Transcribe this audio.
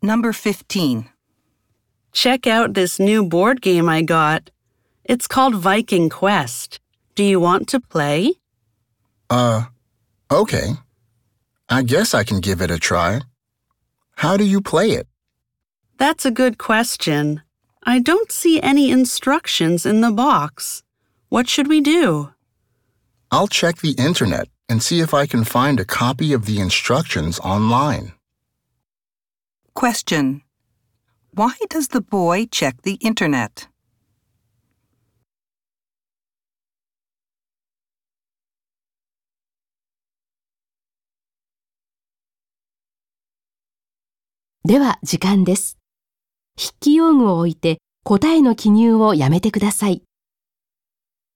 Number 15. Check out this new board game I got. It's called Viking Quest. Do you want to play? Okay. I guess I can give it a try. How do you play it? That's a good question. I don't see any instructions in the box. What should we do? I'll check the internet and see if I can find a copy of the instructions online. Question. Why does the boy check the internet? 「では時間です。筆記用具を置いて答えの記入をやめてください。